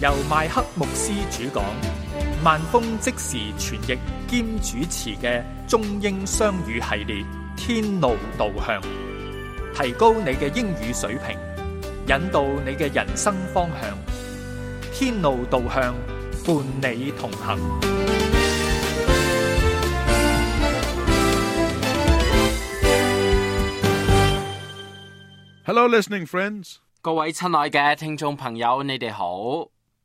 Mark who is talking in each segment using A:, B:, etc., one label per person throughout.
A: 由麥克牧師主講，萬峰即時傳譯兼主持嘅中英雙語系列《天路導向》，提高你嘅英語水平，引導你嘅人生方向。天路導向，伴你同行。
B: Hello, listening friends.
C: 各位親愛嘅聽眾朋友，你哋好。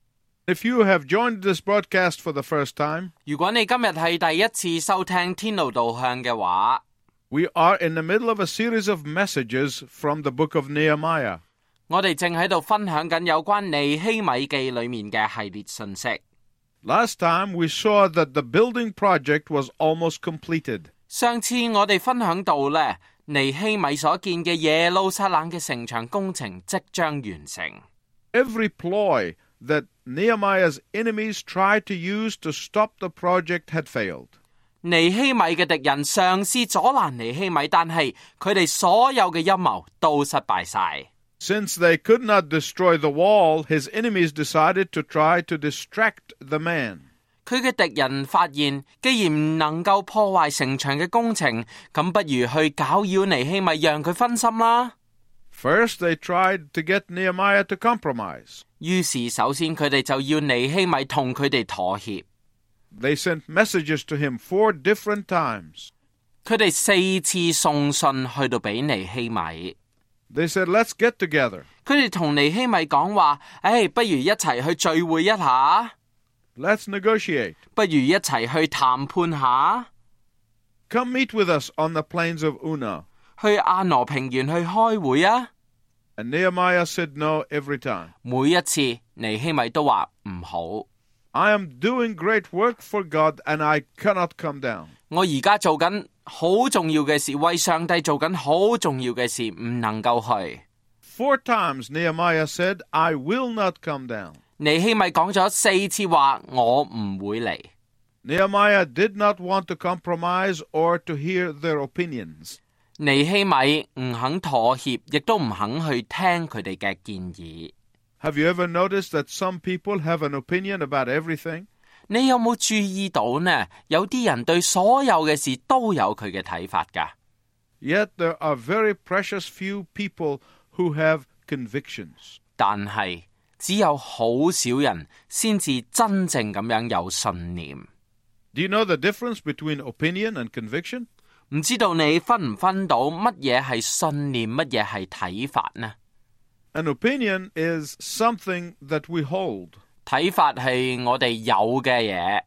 B: If you have joined this broadcast for the first time,
C: 如果你今日係第一次收聽天路導向嘅話，
B: we are in the middle of a series of messages from the book of Nehemiah.
C: 我哋正喺度分享緊有關尼希米記裏面嘅系列信息。
B: Last time we saw that the building project was almost completed.
C: 上次我哋分享到呢，尼希米所建嘅耶路撒冷嘅城牆工程即將完成。
B: Every ploy that Nehemiah's enemies tried to use to stop the project had failed.
C: 尼希米嘅敵人嘗試阻攔尼希米，但係佢哋所有嘅陰謀都失敗晒。
B: Since they could not destroy the wall, his enemies decided to try to distract the man.
C: 佢嘅敵人發現，既然唔能夠破壞城牆嘅工程，咁不如去攪擾尼希米，讓佢分心啦。
B: First, they tried to get Nehemiah to compromise.
C: 於是首先佢哋就要尼希米同佢哋妥協。
B: They sent messages to him 4 different times.
C: 佢哋4次送信去到俾尼希米。
B: They said, let's get together.
C: 佢哋同尼希米講話，不如一齊去聚會一下。
B: Let's negotiate.
C: 不如一齊去談判下。
B: Come meet with us on the plains of Una.
C: 去阿羅平原去開會啊。
B: And Nehemiah said no every time.
C: 每一次尼希米都話唔好。
B: I am doing great work for God and I cannot come down.
C: 我而家做緊好重要嘅事，為上帝做緊好重要嘅事，唔能夠去。
B: 4 times Nehemiah said, I will not come down.
C: 尼希米講咗4次話，我唔會嚟。
B: Nehemiah did not want to compromise or to hear their opinions.
C: 尼希米唔肯妥協，亦都唔肯去聽佢哋嘅建議。
B: Have you ever noticed that some people have an opinion about everything?
C: 你有冇注意到呢？有啲人對所有嘅事都有佢嘅睇法㗎。
B: Yet there are very precious few people who have convictions.
C: 但係只有好少人先至真正咁樣有信念。
B: Do you know the difference between opinion and conviction?
C: 唔知道你分唔分到乜嘢係信念，乜嘢係睇法呢？
B: An opinion is something that we hold.
C: 睇法係我哋有嘅嘢。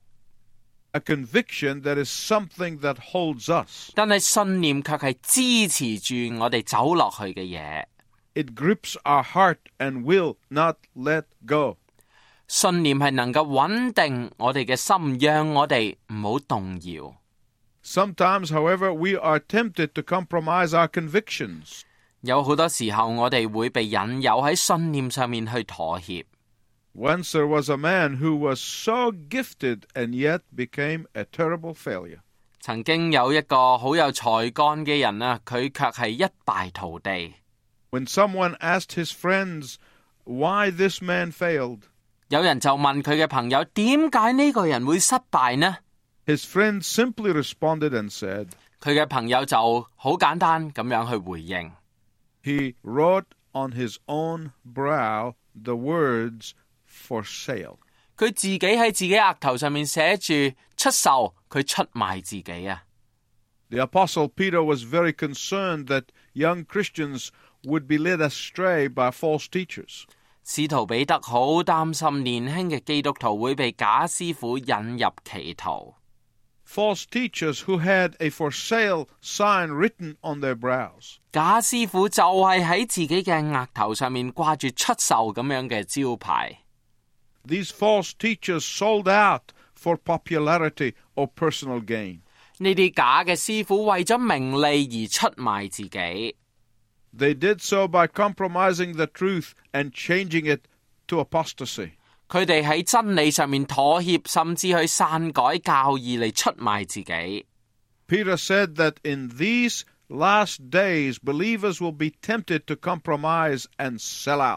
B: A conviction that is something that holds us.
C: 但係信念卻係支持住我哋走落去嘅嘢。
B: It grips our heart and will not let go.
C: 信念係能夠穩定我哋嘅心，讓我哋唔好動搖。
B: Sometimes, however, we are tempted to compromise our convictions.
C: 有好多時候我哋會被引誘喺信念上面去妥協。
B: Once there was a man who was so gifted and yet became a terrible failure.
C: 曾經有一個好有才幹嘅人啊，佢卻係一敗塗地。
B: When someone asked his friends why this man failed,
C: 有人就問佢嘅朋友，點解呢個人會失敗呢？
B: His friend simply responded and said,
C: 佢嘅朋友就好簡單咁樣去回應。
B: He wrote on his own brow the words for sale.
C: 佢自己喺自己額頭上面寫住出售，佢出賣自己啊。
B: The Apostle Peter was very concerned that young Christians would be led astray by false teachers.
C: 使徒彼得好擔心年輕嘅基督徒會被假師傅引入歧途。
B: False teachers who had a for sale sign written on their brows.
C: 假師傅就係喺自己嘅額頭上面掛住出售咁樣嘅招牌。
B: These false teachers sold out for popularity or personal gain.
C: 呢啲假嘅師傅為咗名利而出賣自己。
B: They did so by compromising the truth and changing it to apostasy.
C: 佢哋喺真理上面妥協，甚至去篡改教義嚟出賣自己。
B: Peter said that in these last days, believers will be tempted to compromise and sell out.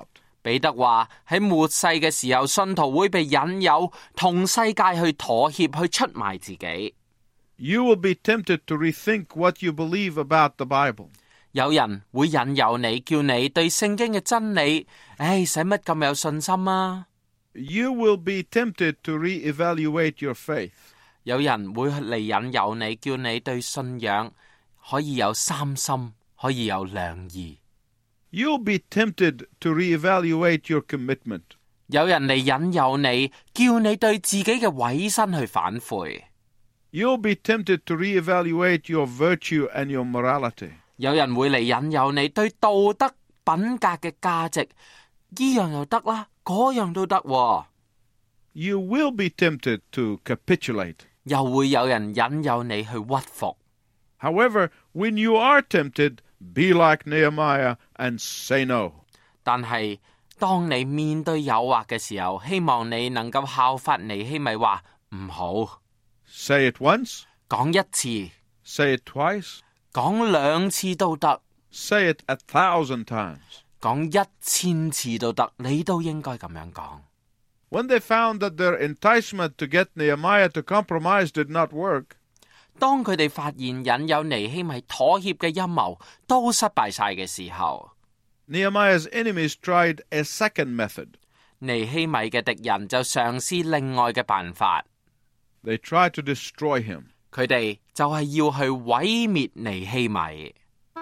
C: 彼得話喺末世嘅時候，信徒會被引誘同世界去妥協，去出賣自己。
B: You will be tempted to rethink what you believe about the Bible.
C: 有人會引誘你，叫你對聖經嘅真理，使乜咁有信心啊？
B: You will be tempted to re-evaluate your faith.
C: 有人會嚟引誘你，叫你對信仰可以有三心，可以有兩意。
B: You'll be tempted to re-evaluate your commitment.
C: 有人嚟引誘你，叫你對自己嘅委身去反悔。
B: You'll be tempted to re-evaluate your virtue and your morality.
C: 有人會嚟引誘你對道德品格嘅價值，呢樣又得啦，嗰樣都得喎。
B: You will be tempted to capitulate.
C: 又會有人引誘你去屈服。
B: However, when you are tempted, be like Nehemiah and say no.
C: 但係當你面對誘惑嘅時候，希望你能夠效法尼希米話唔好。
B: Say it once.
C: 講一次。
B: Say it twice.
C: 講兩次都得。
B: Say it 1,000 times.
C: 講1000次都得，你都應該咁樣講。
B: When they found that their enticement to get Nehemiah to compromise did not work,
C: 當佢哋發現引誘尼希米妥協嘅陰謀都失敗晒嘅時候，
B: Nehemiah's enemies tried a second method.
C: 尼希米嘅敵人就嘗試另外嘅辦法。
B: They tried to destroy him.
C: 佢哋就係要去毀滅尼希米。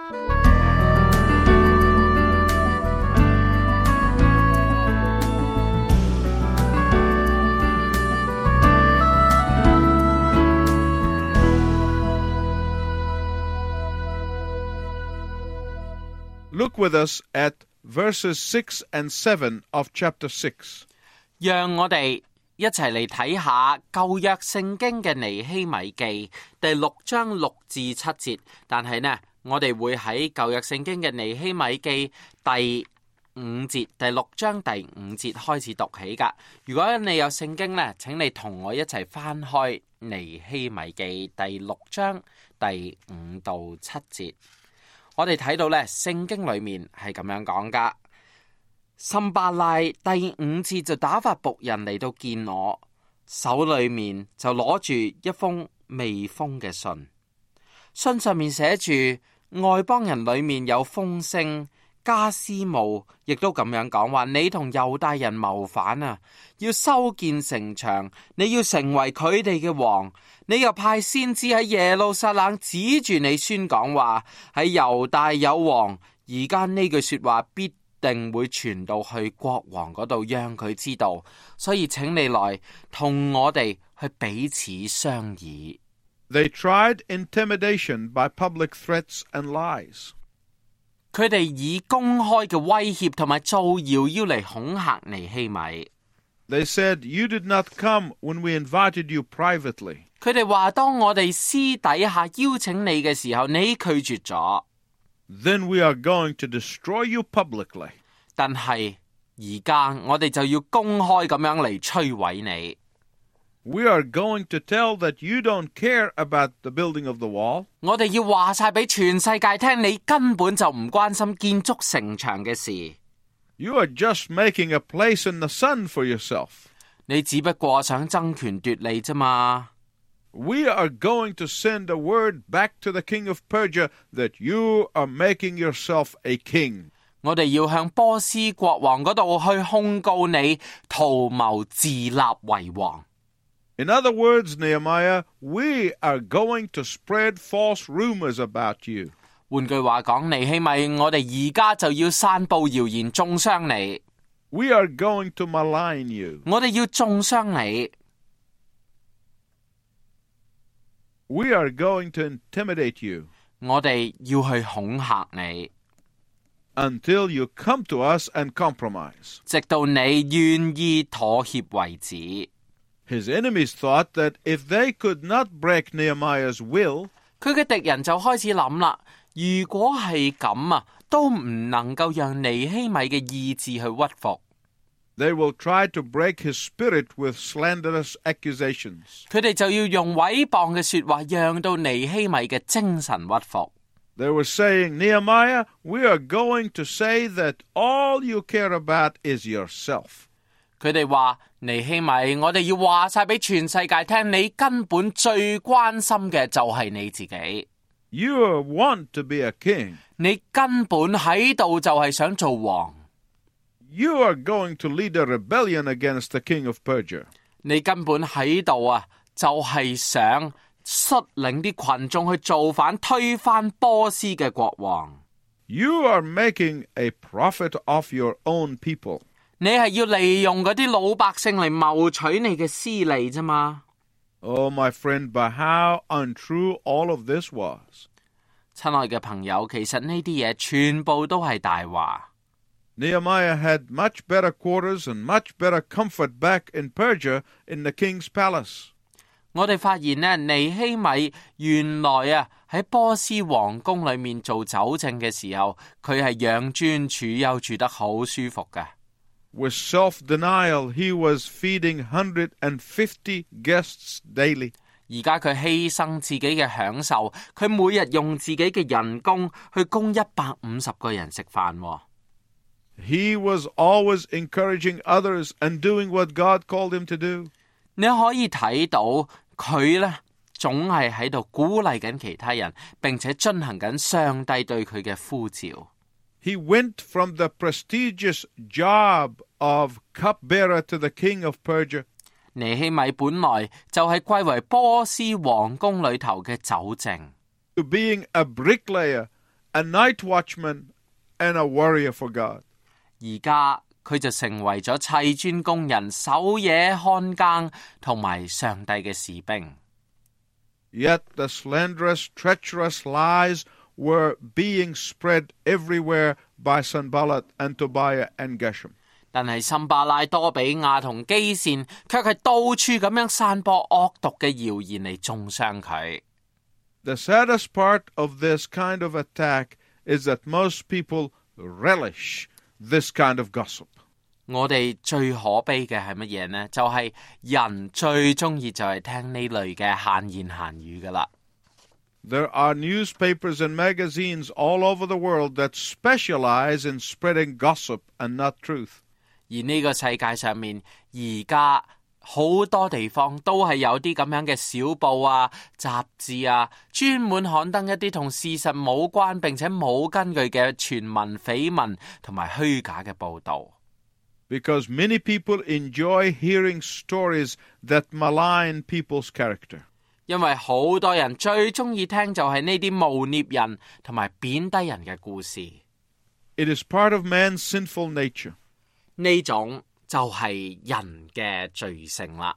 B: Look with us at verses 6 and 7 of chapter 6.
C: 讓我哋一齊嚟睇下舊約聖經嘅尼希米記第6章6至7節。但係呢，我哋會喺舊約聖經嘅尼希米記第5節，第6章第5節開始讀起噶。如果你有聖經呢，請你同我一齊翻開尼希米記第6章第5到7節。我哋睇到呢，聖經裏面係咁樣講噶。參巴拉第5節就打發僕人嚟到見我，手裏面就攞住一封未封嘅信，信上面寫住外邦人裏面有風聲，加斯姆亦都咁樣講話，你同猶大人謀反啊，要修建城牆，你要成為佢哋嘅王。你又派先知喺耶路撒冷指住你宣講話，喺猶大有王。而家呢句說話必定會傳到去國王嗰度，讓佢知道。所以請你來同我哋去彼此商議。
B: They tried intimidation by public threats and lies.
C: 佢哋以公開嘅威脅同埋造謠要嚟恐嚇尼希米。
B: They said, "You did not come when we invited you privately."
C: 佢哋話，當我哋私底下邀請你嘅時候，你拒絕咗。
B: Then we are going to destroy you publicly.
C: 但係而家我哋就要公開咁樣嚟摧毀你。
B: We are going to tell that you don't care about the building of the wall.
C: 我哋要話晒俾全世界聽，你根本就唔關心建築城牆嘅事。
B: You are just making a place in the sun for yourself.
C: 你只不過想爭權奪利啫嘛。
B: We are going to send a word back to the king of Persia that you are making yourself a king.
C: 我哋要向波斯國王嗰度去控告你，圖謀自立為王。
B: In other words, Nehemiah, we are going to spread false rumors about you.
C: 換句話講，尼希米，我哋而家就要散布謠言，中傷你。
B: We are going to malign you.
C: 我哋要中傷你。
B: We are going to intimidate you.
C: 我哋要去恐嚇你。
B: Until you come to us and compromise.
C: 直到你願意妥協為止。
B: His enemies thought that if they could not break Nehemiah's will,
C: 佢嘅敵人就開始諗啦，如果係咁啊，都唔能夠讓尼希米嘅意志去屈服。
B: They will try to break his spirit with slanderous accusations.
C: 佢哋就要用毀謗嘅說話，讓到尼希米嘅精神屈服。
B: They were saying, Nehemiah, we are going to say that all you care about is yourself.
C: 佢哋話尼希米，我哋要話晒俾全世界聽，你根本最關心嘅就係你自己。
B: You want to be a king.
C: 你根本喺度就係想做王。
B: You are going to lead a rebellion against the king of Persia.
C: 你根本喺度啊，就係想率領啲群眾去造反，推翻波斯嘅國王。
B: You are making a profit of your own people.
C: 你係要利用嗰啲老百姓嚟謀取你嘅私利啫嘛。
B: Oh, my friend, but how untrue all of this was.
C: 親愛嘅朋友，其實呢啲嘢全部都係大話。
B: Nehemiah had much better quarters and much better comfort back in Persia in the king's palace.
C: 我哋發現呢，尼希米原來啊喺波斯皇宮裏面做酒政嘅時候，佢係養尊處優，住得好舒服嘅。
B: With self-denial, he was feeding 150 guests daily.
C: 而家佢犧牲自己嘅享受，佢每日用自己嘅人工去供150個人食飯喎。
B: He was always encouraging others and doing what God called him to do.
C: 你可以睇到佢呢，總係喺度鼓勵緊其他人，並且進行緊上帝對佢嘅呼召。
B: He went from the prestigious job of cupbearer to the king of Persia.
C: 尼希米本來就係貴為波斯皇宮裏頭嘅酒政
B: to being a bricklayer, a night watchman, and a warrior for God.
C: 而家佢就成為咗砌磚工人、守夜看更同埋上帝嘅士兵。
B: Yet the slanderous, treacherous lies were being spread everywhere by Sanballat and Tobiah and Geshem.
C: 但係森巴拉、多比亞同基善卻係到處咁樣散播惡毒嘅謠言嚟中傷佢。
B: The saddest part of this kind of attack is that most people relish this kind of gossip.
C: 我哋最可悲嘅係乜嘢呢？就係人最中意就係聽呢類嘅閒言閒語噶啦。
B: There are newspapers and magazines all over the world that specialize in spreading gossip and not truth.
C: 而呢個世界上面，而家好多地方都係有啲咁樣嘅小報啊、雜誌啊，專門刊登一啲同事實冇關並且冇根據嘅傳聞、緋聞同埋虛假嘅報導。
B: Because many people enjoy hearing stories that malign people's character.
C: 因為好多人最中意聽就係呢啲誣衊人同埋貶低人嘅故事。
B: It is part of man's sinful nature.
C: 呢種就係人嘅罪性啦。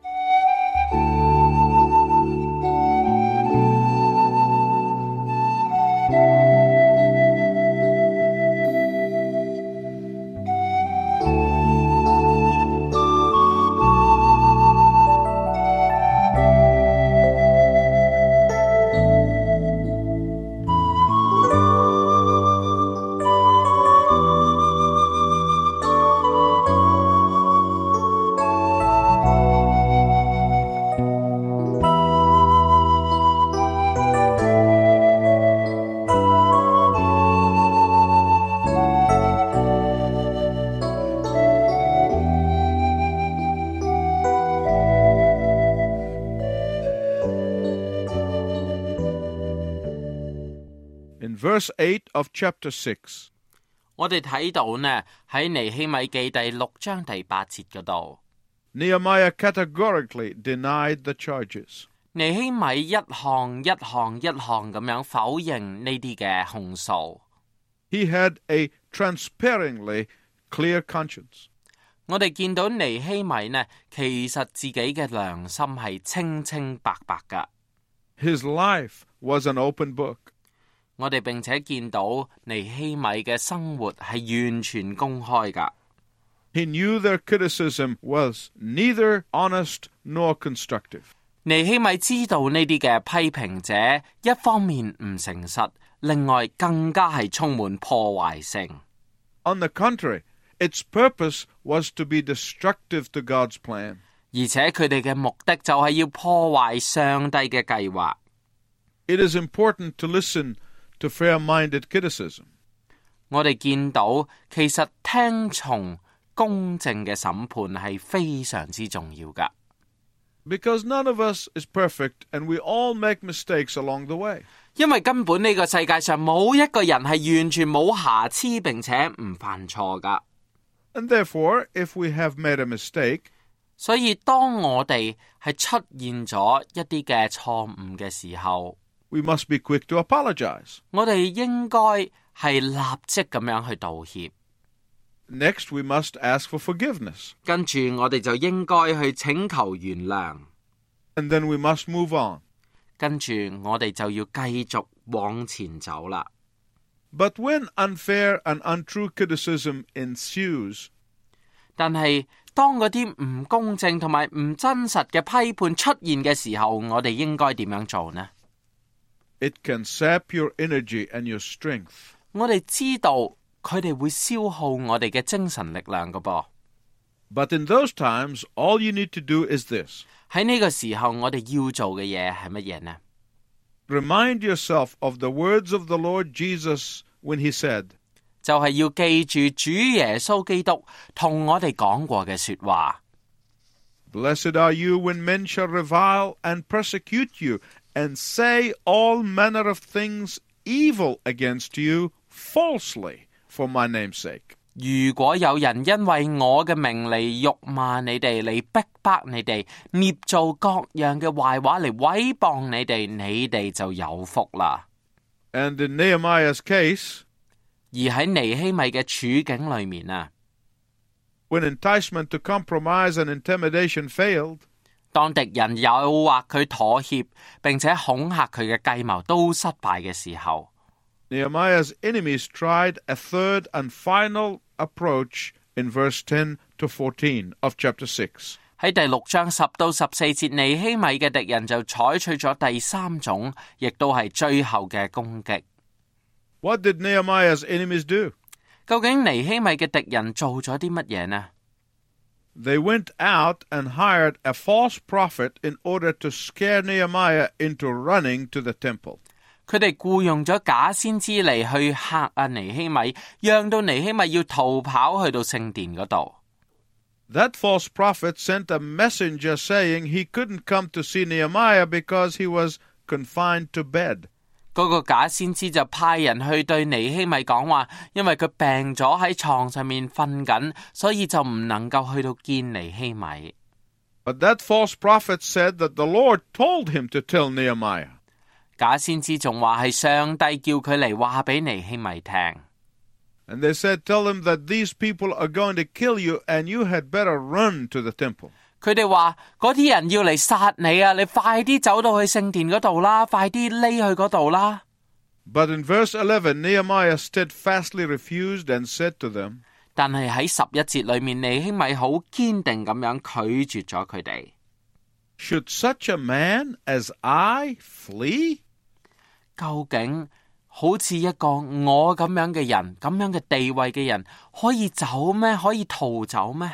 B: In verse 8 of chapter 6,
C: 我哋睇到呢喺尼希米記第6章第8節嗰度，
B: Nehemiah categorically denied the charges.
C: 尼希米一項一項一項咁樣否認呢啲嘅控訴。
B: He had a transparently clear conscience.
C: 我哋見到尼希米呢，其實自己嘅良心係清清白白噶。
B: His life was an open book.
C: 我哋並且見到尼希米嘅生活係完全公開噶。
B: He knew their criticism was neither honest nor constructive.
C: 尼希米知道呢啲嘅批評者一方面唔誠實，另外更加係充滿破壞性。
B: On the contrary, its purpose was to be destructive to God's plan.
C: 而且佢哋嘅目的就係要破壞上帝嘅計劃。
B: It is important to listen to fair-minded criticism.
C: 我哋見到其實聽從公正嘅審判係非常之重要㗎，
B: Because none of us is perfect, and we all make mistakes along the way.
C: 因為根本呢個世界上冇一個人係完全冇瑕疵並且唔犯錯㗎。
B: And therefore, if we have made a mistake,
C: 所以當我哋係出現咗一啲嘅錯誤嘅時候，
B: we must be quick to apologize.
C: 我哋應該係立即咁樣去道歉。
B: Next, we must ask for forgiveness.
C: 跟住我哋就應該去請求原諒。
B: And then we must move on.
C: 跟住我哋就要繼續往前走啦。
B: But when unfair and untrue criticism ensues,
C: 但係當嗰啲唔公正同埋唔真實嘅批判出現嘅時候，我哋應該點樣做呢？
B: it can sap your energy and your strength.
C: 我哋知道佢哋會消耗我哋嘅精神力量㗎噃。
B: But in those times, all you need to do is this.
C: 喺呢個時候，我哋要做嘅嘢係乜嘢呢？
B: Remind yourself of the words of the Lord Jesus when he said,
C: 就係要記住主耶穌基督同我哋講過嘅說話。
B: Blessed are you when men shall revile and persecute you, and say all manner of things evil against you falsely for my name's sake.
C: 如果有人因為我嘅名嚟辱罵你哋，嚟逼迫你哋，捏造各樣嘅壞話嚟毀謗你哋，你哋就有福啦。
B: And in Nehemiah's case,
C: 而喺尼希米嘅處境裏面啊，
B: when enticement to compromise and intimidation failed,
C: 當敵人誘惑佢妥協，並且恐嚇佢嘅計謀都失敗嘅時候，
B: Nehemiah's enemies tried a third and final approach in verse 10 to 14 of chapter 6.
C: 喺第6章10到14節，尼希米嘅敵人就採取咗第三種，亦都係最後嘅攻擊。
B: What did Nehemiah's enemies do?
C: 究竟尼希米嘅敵人做咗啲乜嘢呢？
B: They went out and hired a false prophet in order to scare Nehemiah into running to the temple.
C: 佢哋僱用咗假先知嚟去嚇尼希米，讓到尼希米要逃跑去到聖殿嗰度。
B: That false prophet sent a messenger saying he couldn't come to see Nehemiah because he was confined to bed.
C: 嗰個假先知就派人去對尼希米講話，因為佢病咗喺床上面瞓緊，所以就唔能夠去到見尼希米。
B: But that false prophet said that the Lord told him to tell Nehemiah.
C: 假先知仲話係上帝叫佢嚟話俾尼希米聽。
B: And they said, tell him that these people are going to kill you and you had better run to the temple.
C: 佢哋話嗰啲人要嚟殺你啊！你快啲走到去聖殿嗰度啦，快啲匿去嗰度啦。
B: But in verse 11, Nehemiah steadfastly refused and said to them,
C: 但係喺11節裏面，尼希米好堅定咁樣拒絕咗佢哋。
B: Should such a man as I flee?
C: 究竟好似一個我咁樣嘅人，咁樣嘅地位嘅人，可以走咩？可以逃走咩？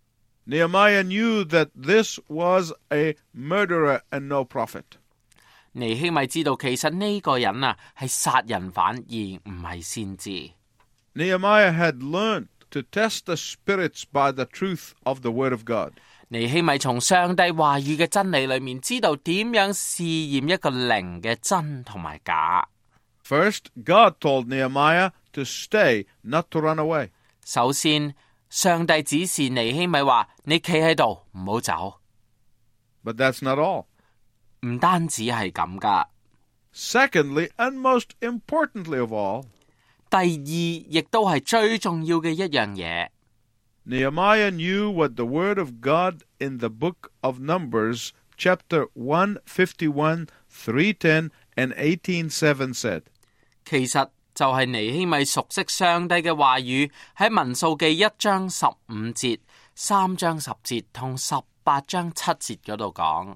B: Nehemiah knew that this was a murderer and no prophet.
C: 尼希米知道其實呢個人啊係殺人犯而唔係先知。
B: Nehemiah had learned to test the spirits by the truth of the word of God.
C: 尼希米從上帝話語嘅真理裏面知道點樣試驗一個靈嘅真同埋假。
B: First, God told Nehemiah to stay, not to run away.
C: 首先，上帝指示尼希米話：你企喺度，唔好走。
B: But that's not all.
C: 唔單止係咁噶。
B: Secondly, and most importantly of all,
C: 第二，亦都係最重要嘅一樣嘢。
B: Nehemiah knew what the word of God in the book of Numbers, chapter 151, 310, and 18:7 said.
C: 其實就係尼希米熟悉上帝嘅話語，喺民數記1章15節、3章10節同18章7節嗰度講。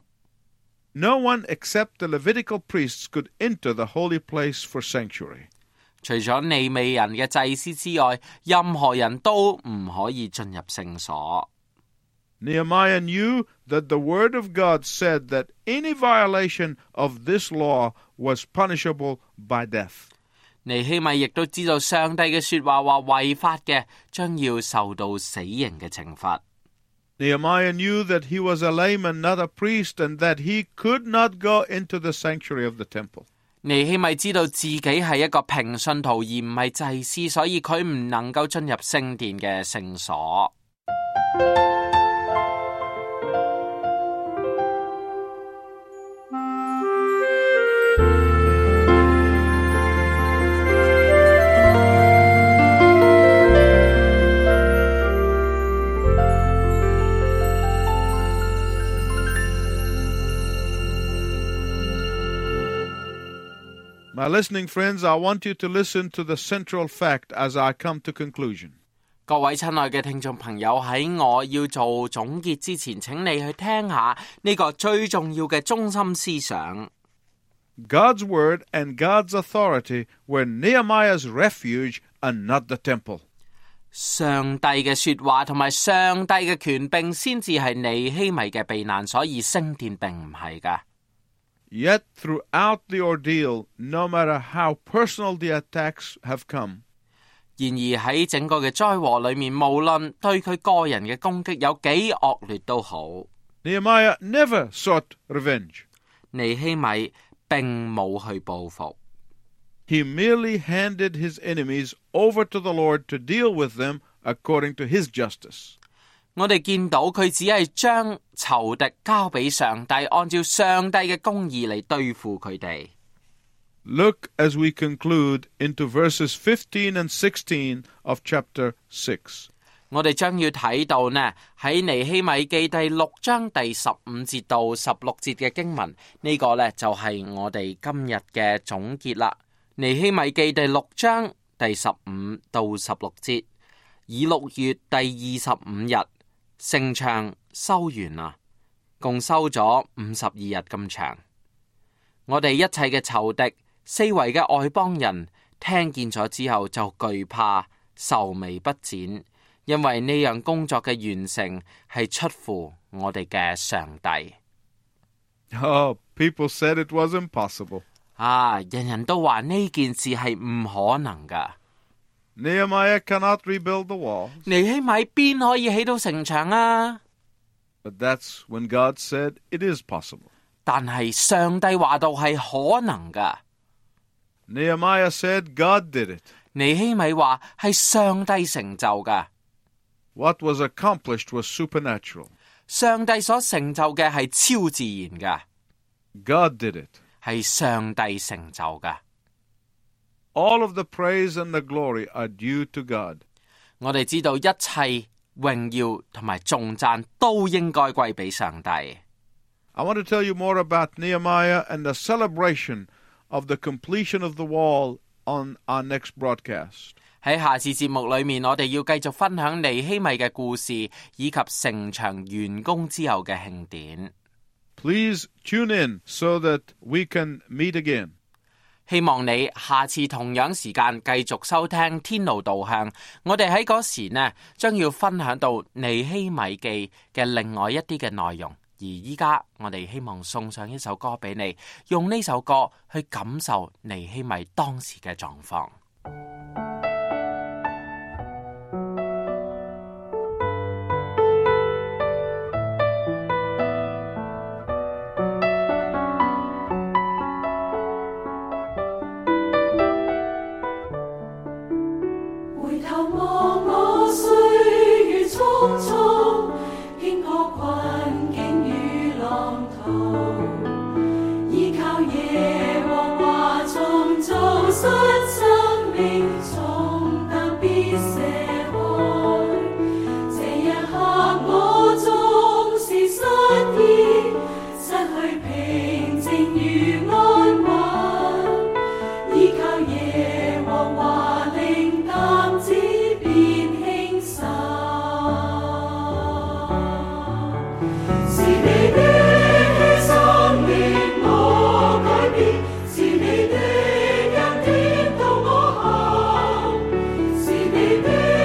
B: No one except the Levitical priests could enter the holy place for sanctuary.
C: 除咗利未人嘅祭司之外，任何人都唔可以進入聖所。
B: Nehemiah knew that the word of God said that any violation of this law was punishable by death.
C: 尼希米亦都知道上帝嘅說話話違法嘅將要受到死刑嘅懲罰。
B: Nehemiah knew that he was a layman, not a priest, and that he could not go into the sanctuary of the temple.
C: 尼希米知道自己係一個平信徒而唔係祭司，所以佢唔能夠進入聖殿嘅聖所。
B: My listening friends, I want you to listen to the central fact as I come to conclusion.
C: 各位親愛嘅聽眾朋友，喺我要做總結之前，請你去聽下呢個最重要嘅中心思想。
B: God's word and God's authority were Nehemiah's refuge and not the temple.
C: 上帝嘅說話同埋上帝嘅權柄先至係尼希米嘅避難，所以聖殿並唔係㗎。
B: Yet throughout the ordeal, no matter how personal the attacks have come,
C: 然而喺整個嘅災禍裏面，無論對佢個人嘅攻擊有幾惡劣都好，
B: Nehemiah never sought revenge.
C: 尼希米並冇去報復。
B: He merely handed his enemies over to the Lord to deal with them according to his justice.
C: 我哋見到佢只係將仇敵交俾上帝，按照上帝嘅公義嚟對付佢哋。
B: Look as we conclude into verses 15 and 16 of chapter 6.
C: 我哋將要睇到呢喺尼希米記第6章第15節到16節嘅經文，呢個呢就係我哋今日嘅總結啦。尼希米記第6章第15到16節，以6月第25日。城牆修完啦，共修咗52日咁長。我哋一切嘅仇敵、四圍嘅外邦人聽見咗之後就懼怕、愁眉不展，因為呢樣工作嘅完成係出乎我哋嘅上帝。
B: Oh, people said it was impossible.
C: 人人都話呢件事係唔可能㗎。
B: Nehemiah cannot rebuild the walls.
C: 尼希米邊可以起到城牆啊？
B: But that's when God said it is possible.
C: 但係上帝話到係可能㗎。
B: Nehemiah said God did it.
C: 尼希米話係上帝成就㗎。
B: What was accomplished was supernatural.
C: 上帝所成就嘅係超自然㗎。
B: God did it.
C: 係上帝成就㗎。
B: All of the praise and the glory are due to God.
C: 我哋知道一切榮耀同埋頌讚都應該歸俾上帝。
B: I want to tell you more about Nehemiah and the celebration of the completion of the wall on our next broadcast.
C: 喺下次節目裏面，我哋要繼續分享尼希米嘅故事，以及城牆完工之後嘅慶典。
B: Please tune in so that we can meet again.
C: 希望你下次同樣時間繼續收聽天路導向，我哋喺嗰時呢將要分享到尼希米記嘅另外一啲嘅內容，而依家我哋希望送上一首歌俾你，用呢首歌去感受尼希米當時嘅狀況。
D: 是你的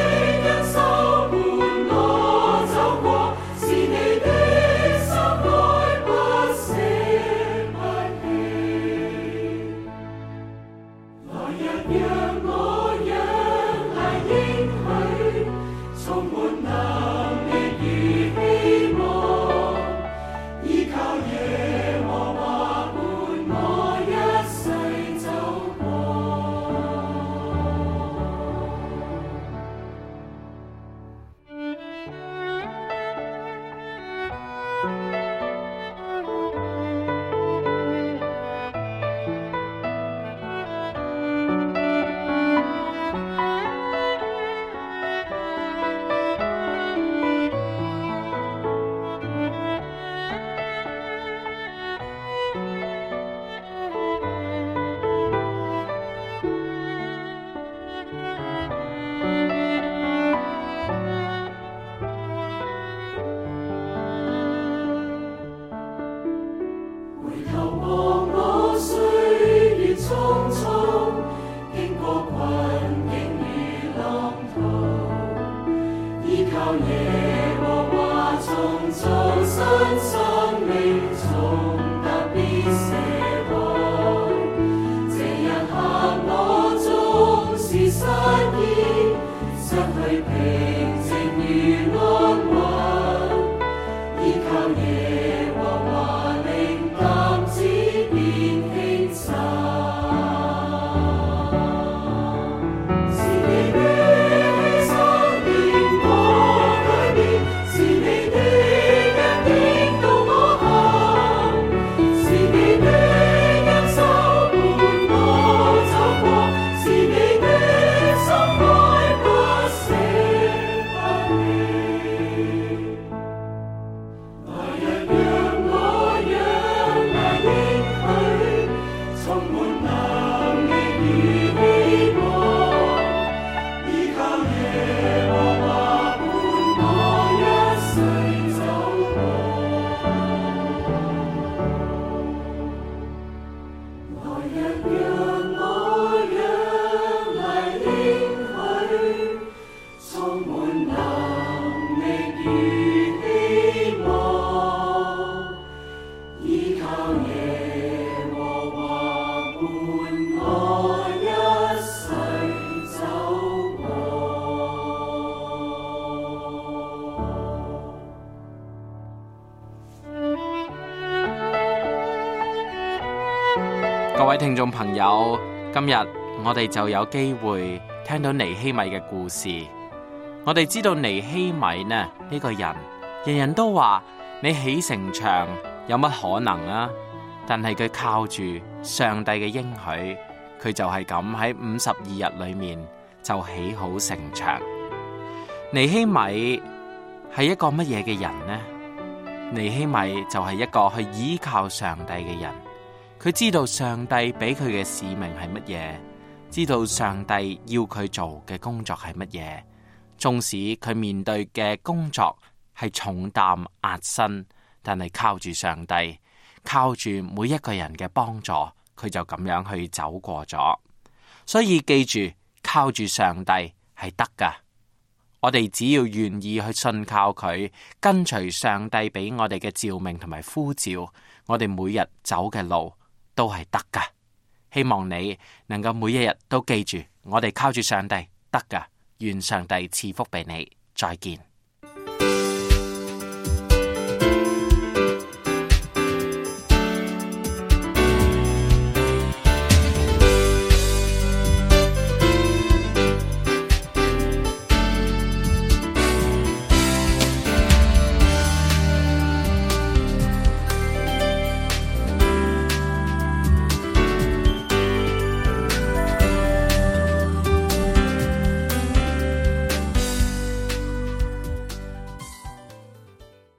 C: 各位聽眾朋友，今日我哋就有機會聽到尼希米嘅故事。我哋知道尼希米呢個人，人人都話你起城牆有乜可能啊？但係佢靠住上帝嘅應許，佢就係咁喺52日裏面就起好城牆。尼希米係一個乜嘢嘅人呢？尼希米就係一個去依靠上帝嘅人。佢知道上帝俾佢嘅使命係乜嘢，知道上帝要佢做嘅工作係乜嘢。縱使佢面對嘅工作係重擔壓身，但係靠住上帝，靠住每一個人嘅幫助，佢就咁樣去走過咗。所以記住，靠住上帝係得噶。我哋只要願意去信靠佢，跟隨上帝俾我哋嘅召命同埋呼召，我哋每日走嘅路都係得噶。希望你能夠每一日都記住，我哋靠住上帝得噶。願上帝賜福俾你。再見。